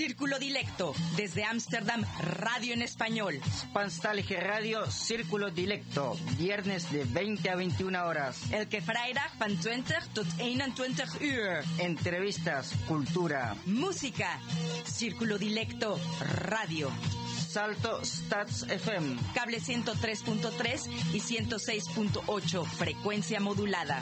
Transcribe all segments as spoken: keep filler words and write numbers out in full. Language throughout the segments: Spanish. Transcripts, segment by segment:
Círculo Dilecto, desde Ámsterdam, radio en español. Spanstalge Radio, Círculo Dilecto, viernes de veinte a veintiuna horas. Elke vrijdag van twintig tot eenentwintig uur. Entrevistas, cultura, música. Círculo Dilecto, radio. Salto Stats F M. Cable ciento tres punto tres y ciento seis punto ocho, frecuencia modulada.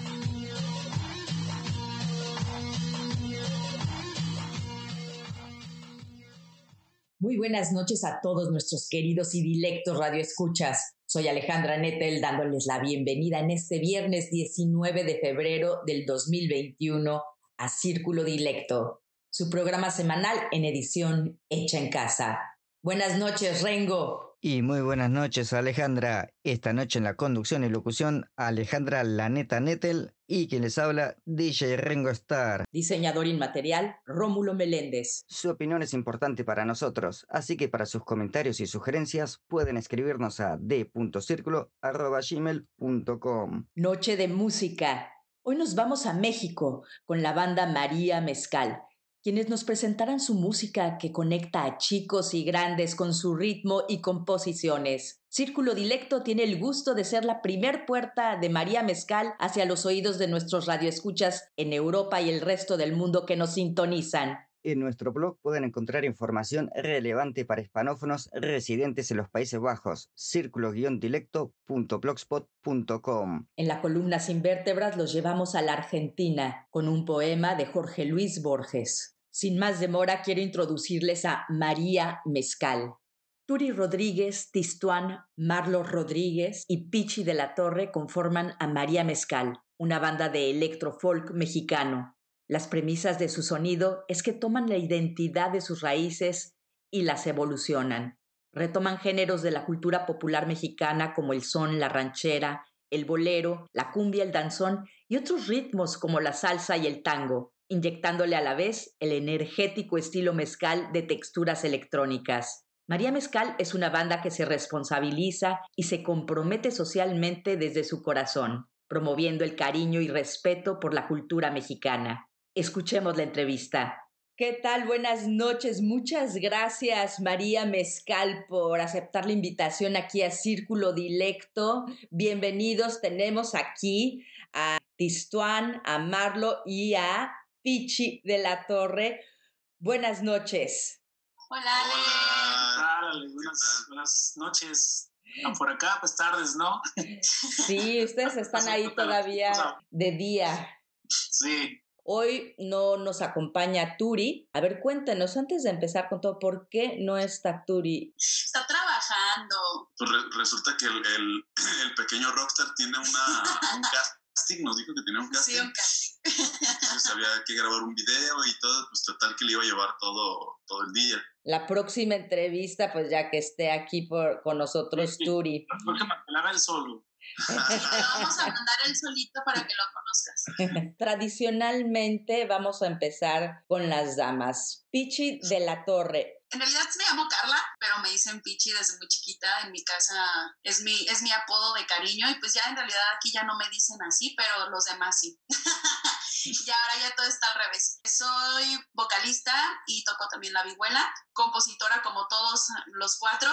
Muy buenas noches a todos nuestros queridos y dilectos radioescuchas. Soy Alejandra Nettel dándoles la bienvenida en este viernes diecinueve de febrero del dos mil veintiuno a Círculo Dilecto, su programa semanal en edición hecha en casa. Buenas noches, Rengo. Y muy buenas noches, Alejandra. Esta noche en la conducción y locución, Alejandra La Neta Nettel y quien les habla, D J Rengo Star. Diseñador inmaterial, Rómulo Meléndez. Su opinión es importante para nosotros, así que para sus comentarios y sugerencias pueden escribirnos a d punto circulo arroba gmail punto com. Noche de música. Hoy nos vamos a México con la banda María Mezcal, quienes nos presentarán su música que conecta a chicos y grandes con su ritmo y composiciones. Círculo Dilecto tiene el gusto de ser la primer puerta de María Mezcal hacia los oídos de nuestros radioescuchas en Europa y el resto del mundo que nos sintonizan. En nuestro blog pueden encontrar información relevante para hispanófonos residentes en los Países Bajos, círculo dilecto punto blogspot punto com. En la columna Sin Vértebras los llevamos a la Argentina con un poema de Jorge Luis Borges. Sin más demora, quiero introducirles a María Mezcal. Turi Rodríguez, Tistuán, Marlo Rodríguez y Pichi de la Torre conforman a María Mezcal, una banda de electrofolk mexicano. Las premisas de su sonido es que toman la identidad de sus raíces y las evolucionan. Retoman géneros de la cultura popular mexicana como el son, la ranchera, el bolero, la cumbia, el danzón y otros ritmos como la salsa y el tango, inyectándole a la vez el energético estilo mezcal de texturas electrónicas. María Mezcal es una banda que se responsabiliza y se compromete socialmente desde su corazón, promoviendo el cariño y respeto por la cultura mexicana. Escuchemos la entrevista. ¿Qué tal? Buenas noches. Muchas gracias, María Mezcal, por aceptar la invitación aquí a Círculo Dilecto. Bienvenidos. Tenemos aquí a Tistuán, a Marlo y a Pichi de la Torre. Buenas noches. Hola, Ale. Hola, Ale. Buenas, buenas noches. Por acá, pues tardes, ¿no? Sí, ustedes están ahí todavía de día. Sí. Hoy no nos acompaña Turi. A ver, cuéntenos, antes de empezar con todo, ¿por qué no está Turi? Está trabajando. Pues re- resulta que el, el, el pequeño rockstar tiene una, un casting, nos dijo que tenía un casting. Sí, un casting. Entonces había que grabar un video y todo, pues total que le iba a llevar todo, todo el día. La próxima entrevista, pues ya que esté aquí por, con nosotros, Sí, sí. Turi. La próxima que la haga él solo. Te lo vamos a mandar él solito para que lo conozcas. Tradicionalmente vamos a empezar con las damas. Pichi de la Torre. En realidad me llamo Carla, pero me dicen Pichi desde muy chiquita. En mi casa es mi, es mi apodo de cariño y pues ya en realidad aquí ya no me dicen así, pero los demás sí. Y ahora ya todo está al revés. Soy vocalista y toco también la vihuela, compositora como todos los cuatro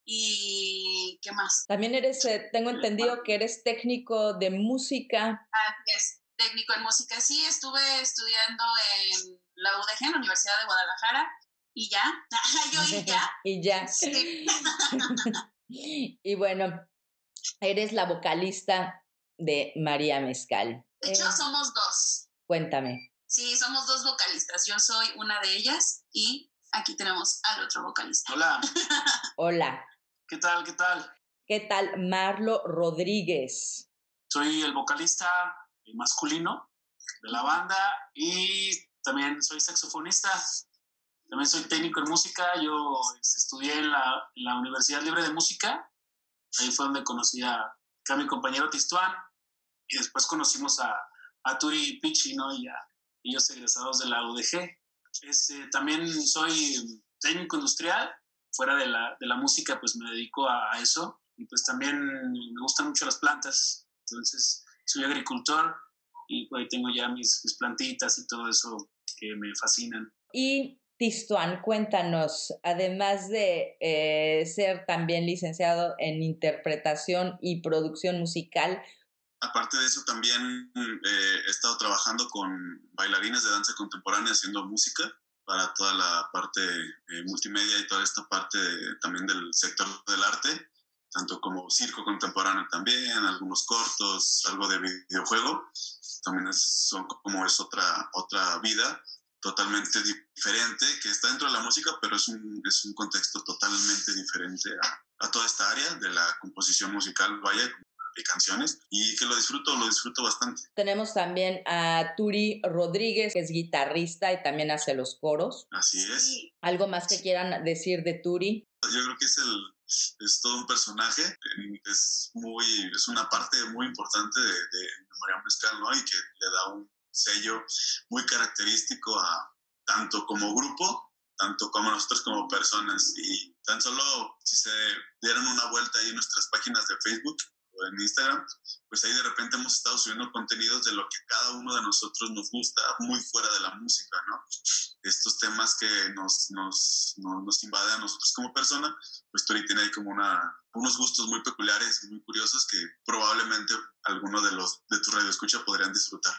y ¿qué más? También eres, eh, tengo entendido que eres técnico de música. Así es, técnico en música. Sí, estuve estudiando en la U D G, en la Universidad de Guadalajara. Y ya, yo y ya. Y ya. Sí. Y bueno, eres la vocalista de María Mezcal. De hecho, Eh, somos dos. Cuéntame. Sí, somos dos vocalistas. Yo soy una de ellas y aquí tenemos al otro vocalista. Hola. Hola. ¿Qué tal? ¿Qué tal? ¿Qué tal? Marlo Rodríguez. Soy el vocalista masculino de la banda y también soy saxofonista. También soy técnico en música. Yo este, estudié en la, en la Universidad Libre de Música. Ahí fue donde conocí a, a mi compañero Tistuán. Y después conocimos a, a Turi y Pichi, ¿no? Y a ellos egresados de la U D G. Este, también soy técnico industrial. Fuera de la, de la música, pues me dedico a, a eso. Y pues también me gustan mucho las plantas. Entonces, soy agricultor y pues, tengo ya mis, mis plantitas y todo eso que me fascinan. Y Tistuan, cuéntanos, además de eh, ser también licenciado en interpretación y producción musical. Aparte de eso, también eh, he estado trabajando con bailarines de danza contemporánea haciendo música para toda la parte eh, multimedia y toda esta parte de, también del sector del arte, tanto como circo contemporáneo también, algunos cortos, algo de videojuego. También es, son como es otra, otra vida totalmente diferente, que está dentro de la música, pero es un, es un contexto totalmente diferente a, a toda esta área de la composición musical, vaya, de canciones, y que lo disfruto, lo disfruto bastante. Tenemos también a Turi Rodríguez, que es guitarrista y también hace los coros. Así es. ¿Algo más que quieran decir de Turi? Yo creo que es el es todo un personaje, es muy es una parte muy importante de, de María Mezcal, ¿no? Y que le da un sello muy característico a tanto como grupo, tanto como nosotros como personas. Y tan solo si se dieran una vuelta ahí en nuestras páginas de Facebook o en Instagram, pues ahí de repente hemos estado subiendo contenidos de lo que cada uno de nosotros nos gusta, muy fuera de la música, ¿no? Estos temas que nos, nos, nos, nos invaden a nosotros como persona, pues Turi tiene ahí como una, unos gustos muy peculiares, muy curiosos, que probablemente alguno de los de tu radioescucha podrían disfrutar.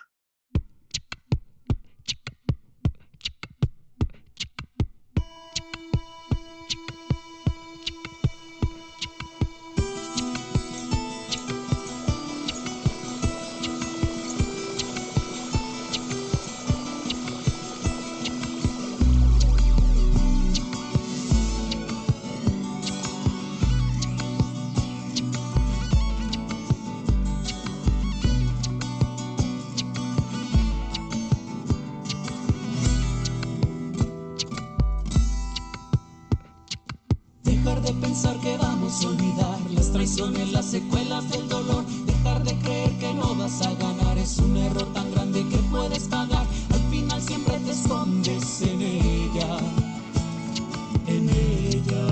Las secuelas del dolor, dejar de creer que no vas a ganar es un error tan grande que puedes pagar. Al final siempre te escondes en ella, en ella.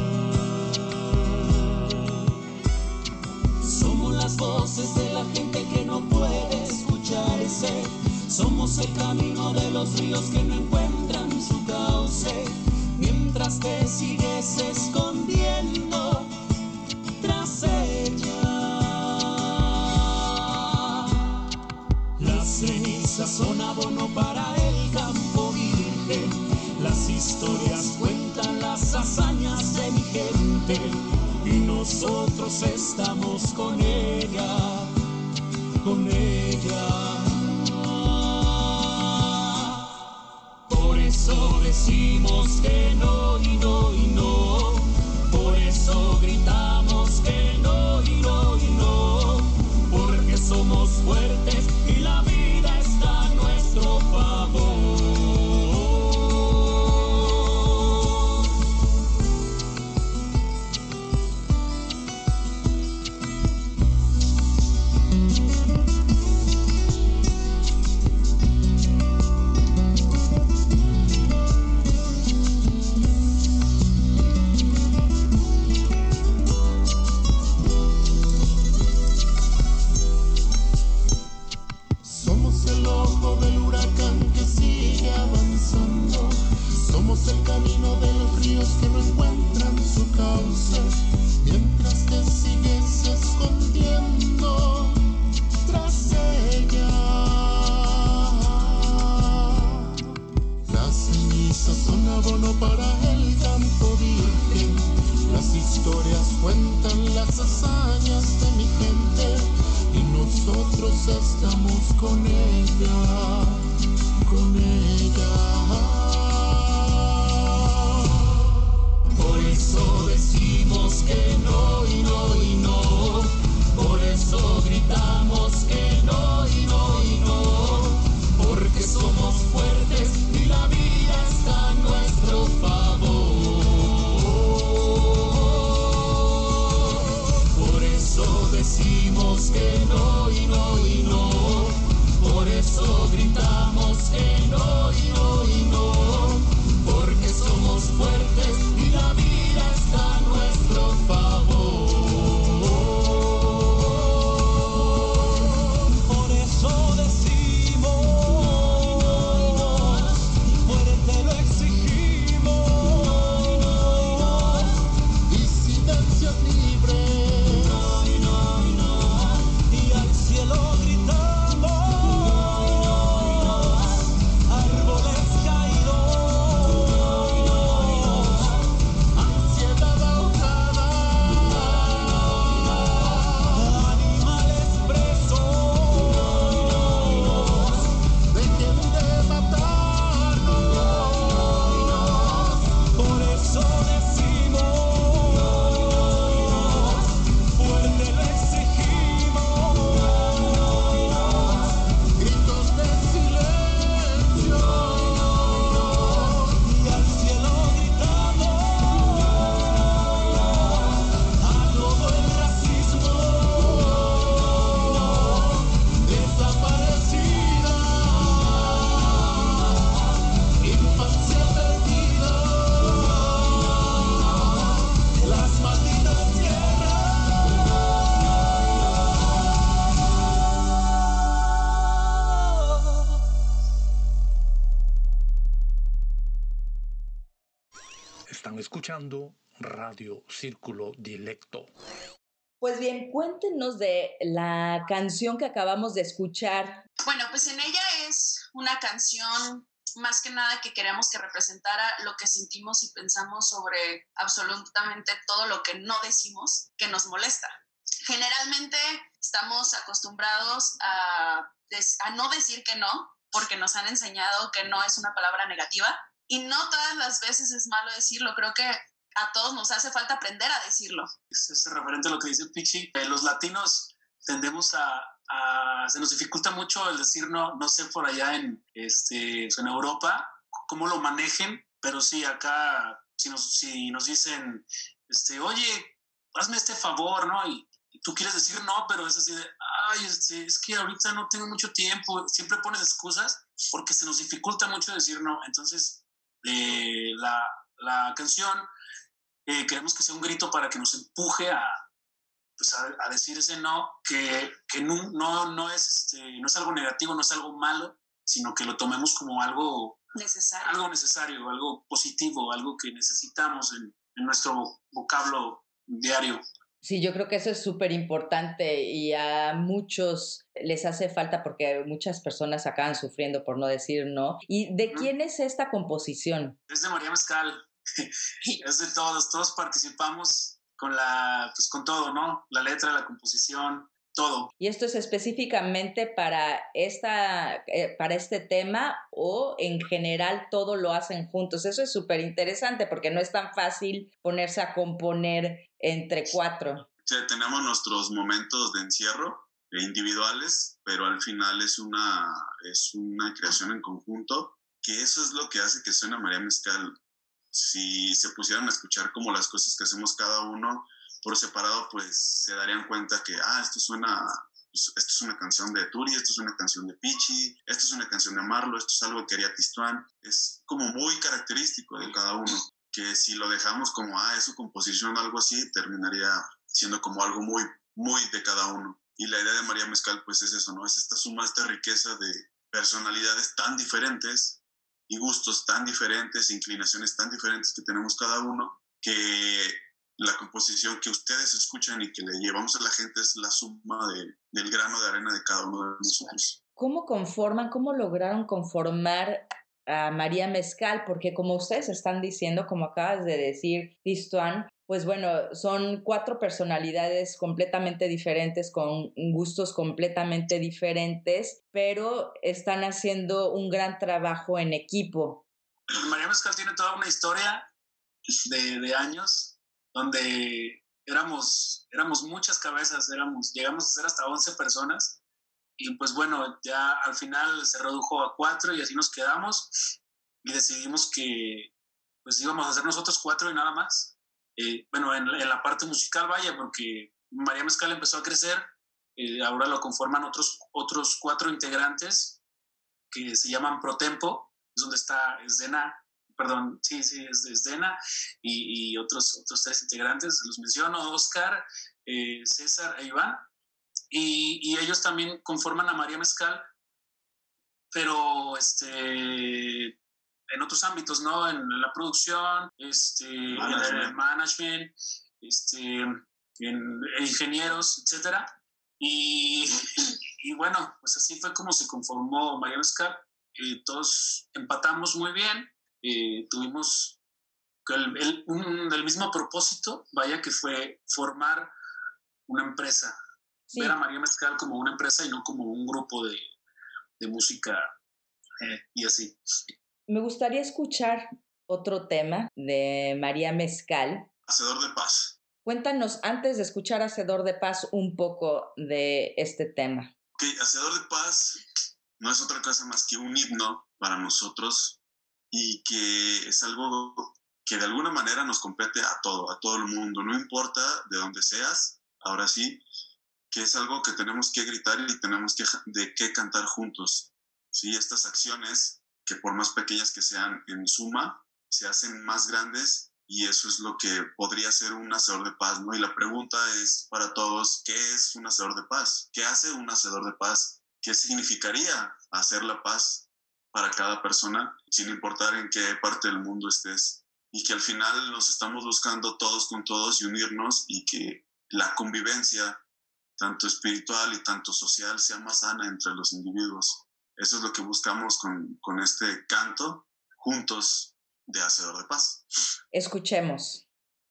Somos las voces de la gente que no puede escucharse. Somos el camino de los ríos que no encuentran su cauce. Mientras te sigues escondiendo tras ella, las cenizas son abono para el campo virgen. Las historias cuentan las hazañas de mi gente y nosotros estamos con ella, con ella. Por eso decimos que no y no y no. Por eso gritamos que no y no y no, porque somos fuertes y la vida está a nuestro favor. El camino de los ríos que no encuentran su cauce, mientras te sigues escondiendo tras ella. Las cenizas son abono para el campo virgen. Las historias cuentan las hazañas de mi gente y nosotros estamos con ella, con ella. Por eso decimos que no y no y no. Por eso gritamos que no y no y no. Porque somos fuertes y la vida está a nuestro favor. Por eso decimos que no y no y no. Por eso gritamos que no. Están escuchando Radio Círculo Dilecto. Pues bien, cuéntenos de la canción que acabamos de escuchar. Bueno, pues en ella es una canción más que nada que queremos que representara lo que sentimos y pensamos sobre absolutamente todo lo que no decimos, que nos molesta. Generalmente estamos acostumbrados a, des- a no decir que no, porque nos han enseñado que no es una palabra negativa, y no todas las veces es malo decirlo. Creo que a todos nos hace falta aprender a decirlo. Es, es referente a lo que dice Pichi. Eh, los latinos tendemos a, a... Se nos dificulta mucho el decir no, no sé por allá en, este, en Europa cómo lo manejen, pero sí, acá, si nos, si nos dicen, este, oye, hazme este favor, ¿no? Y, y tú quieres decir no, pero es así de, ay, este, es que ahorita no tengo mucho tiempo. Siempre pones excusas porque se nos dificulta mucho decir no. Entonces, eh, la, la canción eh, queremos que sea un grito para que nos empuje a, pues a, a decir ese no, que, que no, no, no, es, este, no es algo negativo, no es algo malo, sino que lo tomemos como algo necesario, algo, necesario, algo positivo, algo que necesitamos en, en nuestro vocablo diario. Sí, yo creo que eso es súper importante y a muchos les hace falta porque muchas personas acaban sufriendo por no decir no. ¿Y de quién es esta composición? Es de María Mezcal, es de todos, todos participamos con la, pues con todo, ¿no? La letra, la composición, todo. ¿Y esto es específicamente para, esta, eh, para este tema o en general todo lo hacen juntos? Eso es súper interesante porque no es tan fácil ponerse a componer entre cuatro. Sí, tenemos nuestros momentos de encierro individuales, pero al final es una, es una creación en conjunto, que eso es lo que hace que suene María Mezcal. Si se pusieran a escuchar como las cosas que hacemos cada uno por separado, pues se darían cuenta que, ah, esto suena, esto es una canción de Turi, esto es una canción de Pichi, esto es una canción de Marlo, esto es algo que haría Tistuán. Es como muy característico de cada uno, que si lo dejamos como, ah, es su composición o algo así, terminaría siendo como algo muy, muy de cada uno. Y la idea de María Mezcal, pues es eso, ¿no? Es esta suma, esta riqueza de personalidades tan diferentes y gustos tan diferentes, inclinaciones tan diferentes que tenemos cada uno, que la composición que ustedes escuchan y que le llevamos a la gente es la suma de, del grano de arena de cada uno de nosotros. ¿Cómo conforman, cómo lograron conformar a María Mezcal? Porque como ustedes están diciendo, como acabas de decir, Tistuán, pues bueno, son cuatro personalidades completamente diferentes, con gustos completamente diferentes, pero están haciendo un gran trabajo en equipo. María Mezcal tiene toda una historia de, de años donde éramos, éramos muchas cabezas, éramos, llegamos a ser hasta once personas y pues bueno, ya al final se redujo a cuatro y así nos quedamos y decidimos que pues íbamos a hacer nosotros cuatro y nada más. Eh, bueno, en, en la parte musical, vaya, porque María Mezcal empezó a crecer, eh, ahora lo conforman otros, otros cuatro integrantes que se llaman Protempo, es donde está Esdena, perdón, sí, sí, es Esdena, y, y otros, otros tres integrantes, los menciono, Oscar, eh, César e Iván, y, y ellos también conforman a María Mezcal, pero este... en otros ámbitos, ¿no? En, en la producción, este, management. en el management, este, en ingenieros, etcétera. Y, y bueno, pues así fue como se conformó María Mezcal. Eh, todos empatamos muy bien, eh, tuvimos el, el, un, el mismo propósito, vaya, que fue formar una empresa. Sí. Ver a María Mezcal como una empresa y no como un grupo de, de música eh, y así. Me gustaría escuchar otro tema de María Mezcal. Hacedor de Paz. Cuéntanos, antes de escuchar Hacedor de Paz, un poco de este tema. Ok, Hacedor de Paz no es otra cosa más que un himno para nosotros y que es algo que de alguna manera nos compete a todo, a todo el mundo. No importa de dónde seas, ahora sí, que es algo que tenemos que gritar y tenemos que, de qué cantar juntos. ¿Sí? Estas acciones, que por más pequeñas que sean en suma, se hacen más grandes y eso es lo que podría ser un hacedor de paz, ¿no? Y la pregunta es para todos, ¿qué es un hacedor de paz? ¿Qué hace un hacedor de paz? ¿Qué significaría hacer la paz para cada persona, sin importar en qué parte del mundo estés? y que al final nos estamos buscando todos con todos y unirnos, y que la convivencia, tanto espiritual y tanto social, sea más sana entre los individuos. Eso es lo que buscamos con, con este canto, juntos, de Hacedor de Paz. Escuchemos.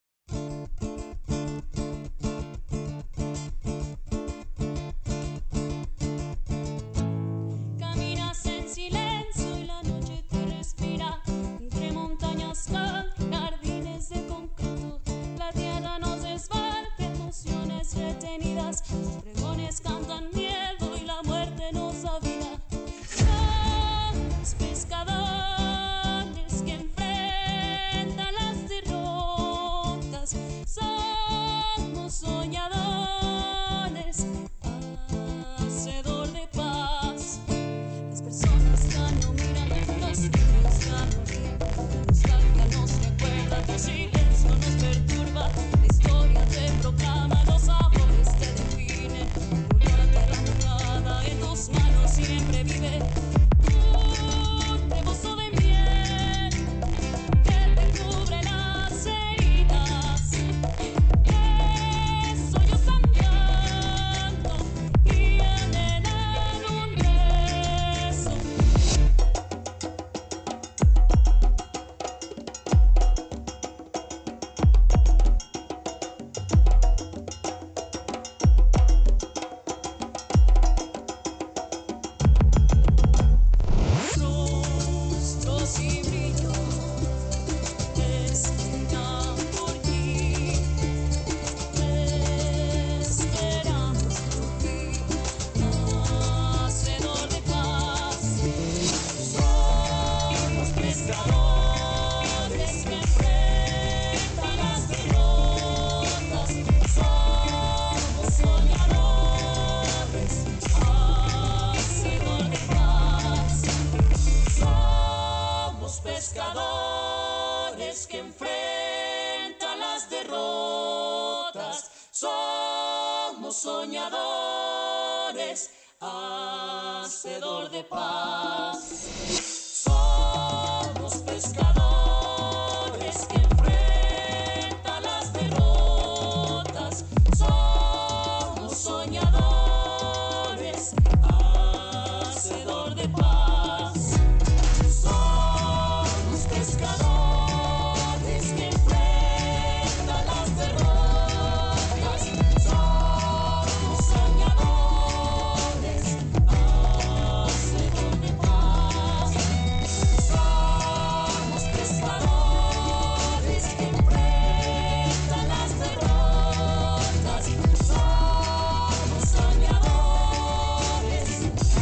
Caminas en silencio y la noche te respira, entre montañas, jardines de concreto. La tierra nos desbarca, emociones retenidas, los pregones cantan miedo y la muerte nos da vida. Somos pescadores que enfrentan las derrotas, somos soñadores, hacedor de paz. Las personas ya no miran, los niños ya no ríen, la nostalgia nos recuerda, tu silencio nos perturba, la historia te proclama, los sabores te definen, la tierra mojada en tus manos siempre vive. Un rebozo de miel que te cubre las heridas, es sollozando y anhelan un beso. Rostros y brillo esperan por ti, esperamos por ti, hacedor de paz. Somos pescadores que enfrentan las derrotas, somos soñadores, hacedor de paz. Somos pescadores que enfrentan las derrotas, somos soñadores, hacedor de paz. Somos pescadores que enfrentan las derrotas, somos soñadores, hacedor de paz. Somos pescadores que enfrentan las derrotas, somos soñadores, hacedor de paz. Somos pescadores que enfrentan las derrotas, somos soñadores.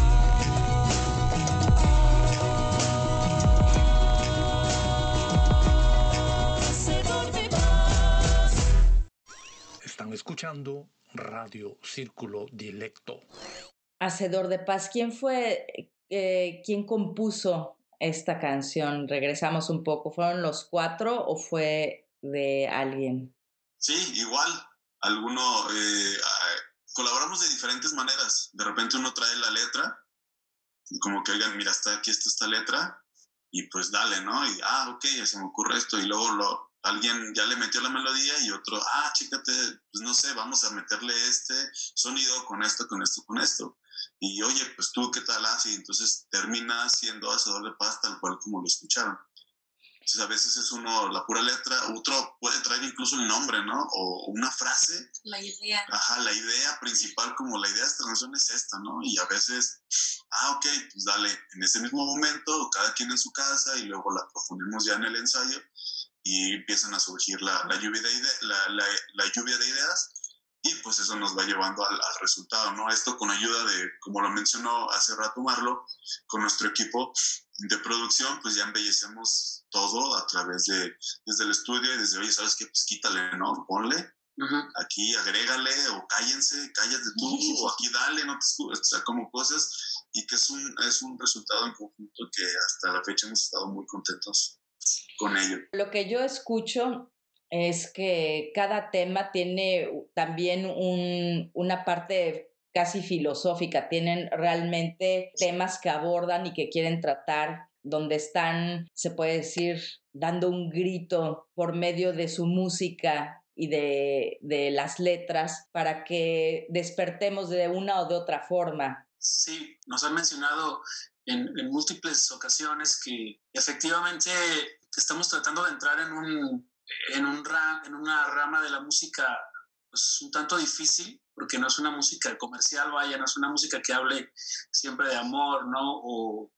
Hacedor de paz. Están escuchando Radio Círculo Dilecto. Hacedor de Paz, ¿quién fue, eh, quién compuso esta canción? Regresamos un poco. ¿Fueron los cuatro o fue de alguien? Sí, igual. Alguno, eh, ah, colaboramos de diferentes maneras. De repente uno trae la letra, y como que, oigan, mira, está aquí está esta letra, y pues dale, ¿no? Y, ah, ok, ya se me ocurre esto, y luego lo, alguien ya le metió la melodía, y otro, ah, chécate, pues no sé, vamos a meterle este sonido con esto, con esto, con esto. Y oye, pues tú, ¿qué tal haces? Y entonces termina siendo Hacedor de Paz tal cual como lo escucharon. Entonces a veces es uno la pura letra, otro puede traer incluso el nombre, ¿no? O una frase. La idea. Ajá, la idea principal, como la idea de esta canción es esta, ¿no? Y a veces, ah, ok, pues dale, en ese mismo momento, cada quien en su casa, y luego la profundimos ya en el ensayo, y empiezan a surgir la, la, lluvia, de ide- la, la, la lluvia de ideas, y pues eso nos va llevando al, al resultado, ¿no? Esto con ayuda de, como lo mencionó hace rato Marlo, con nuestro equipo de producción, pues ya embellecemos todo a través de, desde el estudio, y desde, oye, ¿sabes qué? Pues quítale, ¿no? Ponle, uh-huh. Aquí agrégale, o cállense, cállate tú, uh-huh. O aquí dale, no te escuches, o sea, como cosas, y que es un, es un resultado en conjunto que hasta la fecha hemos estado muy contentos con ello. Lo que yo escucho es que cada tema tiene también un, una parte casi filosófica, tienen realmente temas que abordan y que quieren tratar donde están, se puede decir, dando un grito por medio de su música y de, de las letras para que despertemos de una o de otra forma. Sí, nos han mencionado en, en múltiples ocasiones que efectivamente estamos tratando de entrar en, un, en, un ra, en una rama de la música pues, un tanto difícil, porque no es una música comercial, vaya, no es una música que hable siempre de amor, ¿no? O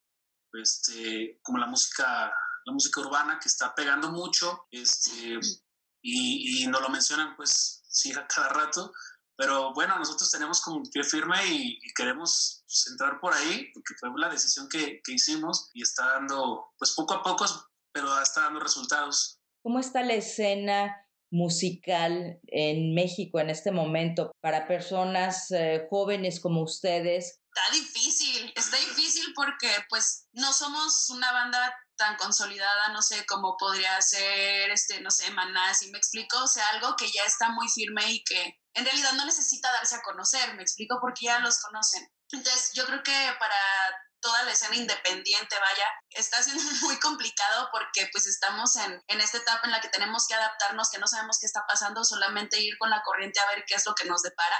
este, como la música, la música urbana que está pegando mucho, este, y, y nos lo mencionan pues sí a cada rato, pero bueno, nosotros tenemos como un pie firme y, y queremos pues, entrar por ahí, porque fue la decisión que, que hicimos y está dando, pues poco a poco, pero está dando resultados. ¿Cómo está la escena musical en México en este momento para personas eh, jóvenes como ustedes? Está difícil, está difícil porque pues no somos una banda tan consolidada, no sé, como podría ser, este, no sé, Maná, ¿sí me explico? O sea, algo que ya está muy firme y que en realidad no necesita darse a conocer, ¿me explico? Porque ya los conocen. Entonces, yo creo que para toda la escena independiente, vaya, está siendo muy complicado porque pues estamos en, en esta etapa en la que tenemos que adaptarnos, que no sabemos qué está pasando, solamente ir con la corriente a ver qué es lo que nos depara.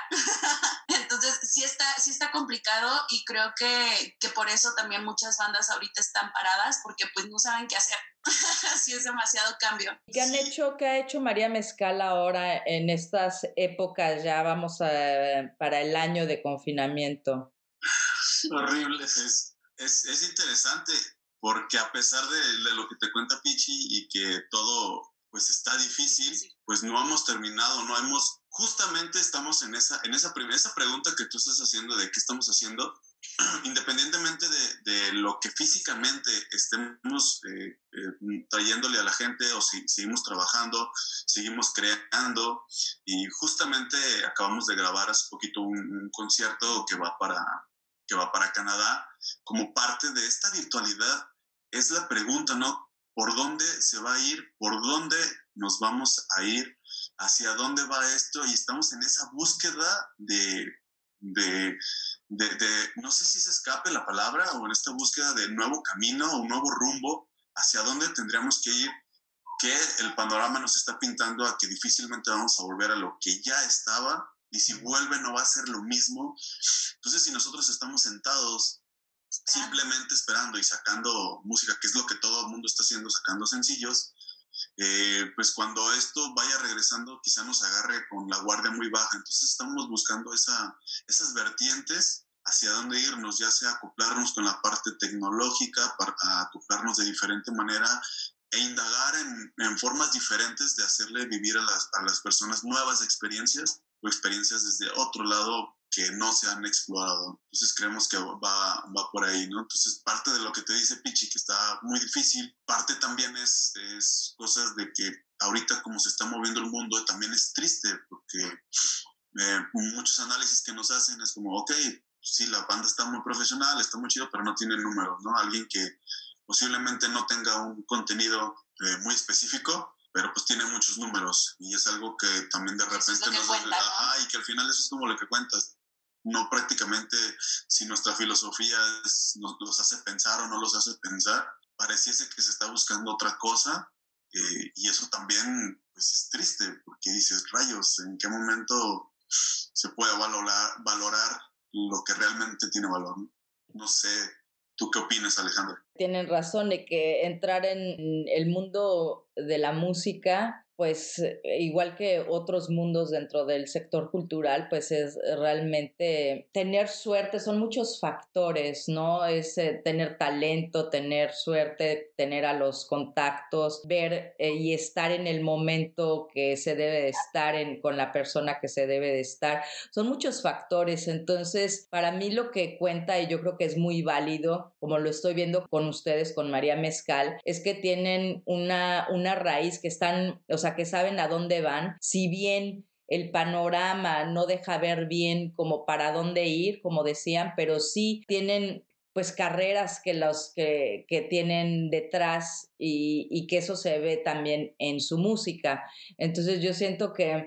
Entonces sí está, sí está complicado y creo que, que por eso también muchas bandas ahorita están paradas porque pues no saben qué hacer. Sí es demasiado cambio. ¿Qué han hecho, qué ha hecho María Mezcal ahora en estas épocas? Ya vamos a, para el año de confinamiento. Horrible. Es, es, es interesante porque a pesar de, de lo que te cuenta Pichi y que todo pues está difícil, sí, sí. Pues no hemos terminado, no hemos, justamente estamos en esa, en esa, primera, esa pregunta que tú estás haciendo de qué estamos haciendo, independientemente de, de lo que físicamente estemos eh, eh, trayéndole a la gente o si seguimos trabajando, seguimos creando y justamente acabamos de grabar hace poquito un, un concierto que va para que va para Canadá, como parte de esta virtualidad, es la pregunta, ¿no? ¿Por dónde se va a ir? ¿Por dónde nos vamos a ir? ¿Hacia dónde va esto? Y estamos en esa búsqueda de, de, de, de no sé si se escape la palabra, o en esta búsqueda de nuevo camino, un nuevo rumbo, hacia dónde tendríamos que ir, que el panorama nos está pintando a que difícilmente vamos a volver a lo que ya estaba, y si vuelve no va a ser lo mismo. Entonces, si nosotros estamos sentados esperando. Simplemente esperando y sacando música, que es lo que todo el mundo está haciendo, sacando sencillos, eh, pues cuando esto vaya regresando quizá nos agarre con la guardia muy baja. Entonces estamos buscando esa, esas vertientes hacia dónde irnos, ya sea acoplarnos con la parte tecnológica, para acoplarnos de diferente manera e indagar en, en formas diferentes de hacerle vivir a las, a las personas nuevas experiencias o experiencias desde otro lado que no se han explorado. Entonces creemos que va, va por ahí, ¿no? Entonces parte de lo que te dice Pichi, que está muy difícil, parte también es, es cosas de que ahorita como se está moviendo el mundo también es triste, porque eh, muchos análisis que nos hacen es como, ok, sí, la banda está muy profesional, está muy chido, pero no tiene números, ¿no? Alguien que posiblemente no tenga un contenido eh, muy específico, pero pues tiene muchos números y es algo que también de repente es nos cuenta, ¿no? Ah, y que al final eso es como lo que cuentas. No prácticamente si nuestra filosofía es, nos los hace pensar o no los hace pensar, pareciese que se está buscando otra cosa eh, y eso también pues es triste porque dices, rayos, ¿en qué momento se puede valorar, valorar lo que realmente tiene valor? No, no sé, ¿tú qué opinas, Alejandra? Tienen razón de que entrar en el mundo de la música, pues igual que otros mundos dentro del sector cultural, pues es realmente tener suerte, son muchos factores, ¿no? Es eh, tener talento, tener suerte, tener a los contactos, ver eh, y estar en el momento que se debe de estar en, con la persona que se debe de estar. Son muchos factores, entonces para mí lo que cuenta, y yo creo que es muy válido, como lo estoy viendo con ustedes, con María Mezcal, es que tienen una, una raíz que están, o sea, que saben a dónde van, si bien el panorama no deja ver bien como para dónde ir, como decían, pero sí tienen pues carreras que los que, que tienen detrás y, y que eso se ve también en su música. Entonces yo siento que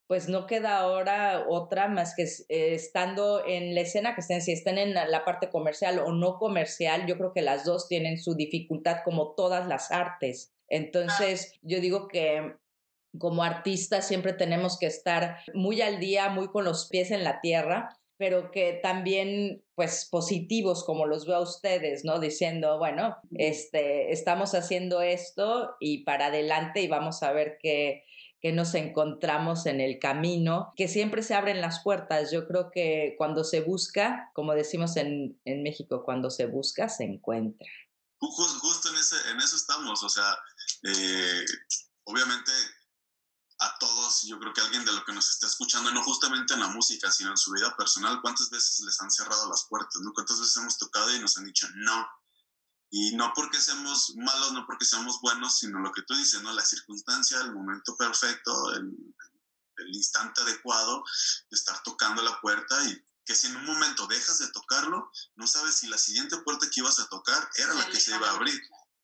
pues no queda ahora otra más que eh, estando en la escena, que estén, si estén en la parte comercial o no comercial, yo creo que las dos tienen su dificultad como todas las artes. Entonces, yo digo que como artistas siempre tenemos que estar muy al día, muy con los pies en la tierra, pero que también, pues, positivos como los veo a ustedes, ¿no? Diciendo, bueno, este, estamos haciendo esto y para adelante y vamos a ver qué, qué nos encontramos en el camino, que siempre se abren las puertas. Yo creo que cuando se busca, como decimos en, en México, cuando se busca, se encuentra. Justo, justo en, ese, en eso estamos, o sea, eh, obviamente a todos, yo creo que alguien de lo que nos está escuchando, no justamente en la música, sino en su vida personal, ¿cuántas veces les han cerrado las puertas? ¿No? ¿Cuántas veces hemos tocado y nos han dicho no? Y no porque seamos malos, no porque seamos buenos, sino lo que tú dices, ¿no? La circunstancia, el momento perfecto, el, el instante adecuado de estar tocando la puerta, y que si en un momento dejas de tocarlo, no sabes si la siguiente puerta que ibas a tocar era la que se iba a abrir.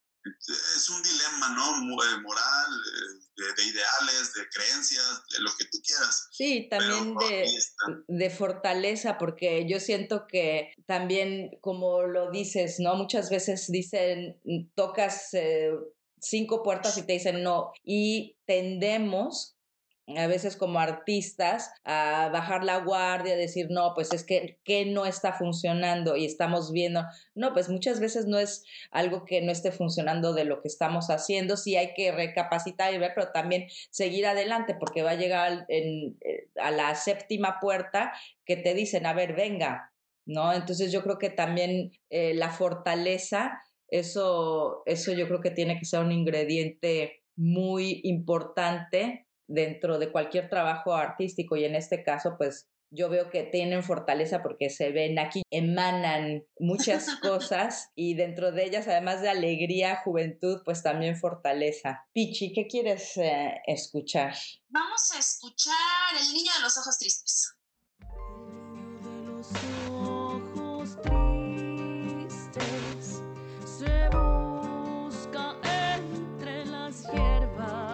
Es un dilema, ¿no? Moral, de, de ideales, de creencias, de lo que tú quieras. Sí, también de, de fortaleza, porque yo siento que también, como lo dices, ¿no? Muchas veces dicen, tocas eh, cinco puertas y te dicen no, y tendemos a veces como artistas a bajar la guardia, a decir, no, pues es que, que no está funcionando y estamos viendo, no, pues muchas veces no es algo que no esté funcionando de lo que estamos haciendo, sí hay que recapacitar y ver, pero también seguir adelante, porque va a llegar en, a la séptima puerta que te dicen, a ver, venga, ¿no? Entonces yo creo que también eh, la fortaleza, eso, eso yo creo que tiene que ser un ingrediente muy importante dentro de cualquier trabajo artístico, y en este caso pues yo veo que tienen fortaleza porque se ven aquí, emanan muchas cosas y dentro de ellas, además de alegría, juventud, pues también fortaleza. Pichi, ¿qué quieres eh, escuchar? Vamos a escuchar El niño de los ojos tristes. El niño de los ojos tristes se busca entre las hierbas.